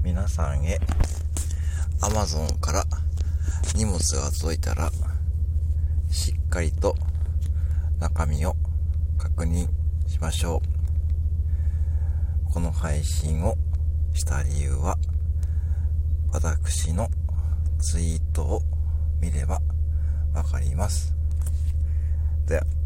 皆さんへ Amazon から荷物が届いたらしっかりと中身を確認しましょう。この配信をした理由は私のツイートを見ればわかります。では